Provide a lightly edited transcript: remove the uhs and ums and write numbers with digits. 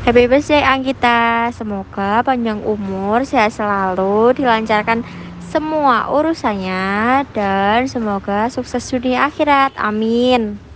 Happy birthday Anggita. Semoga panjang umur, sehat selalu, dilancarkan semua urusannya dan semoga sukses dunia akhirat. Amin.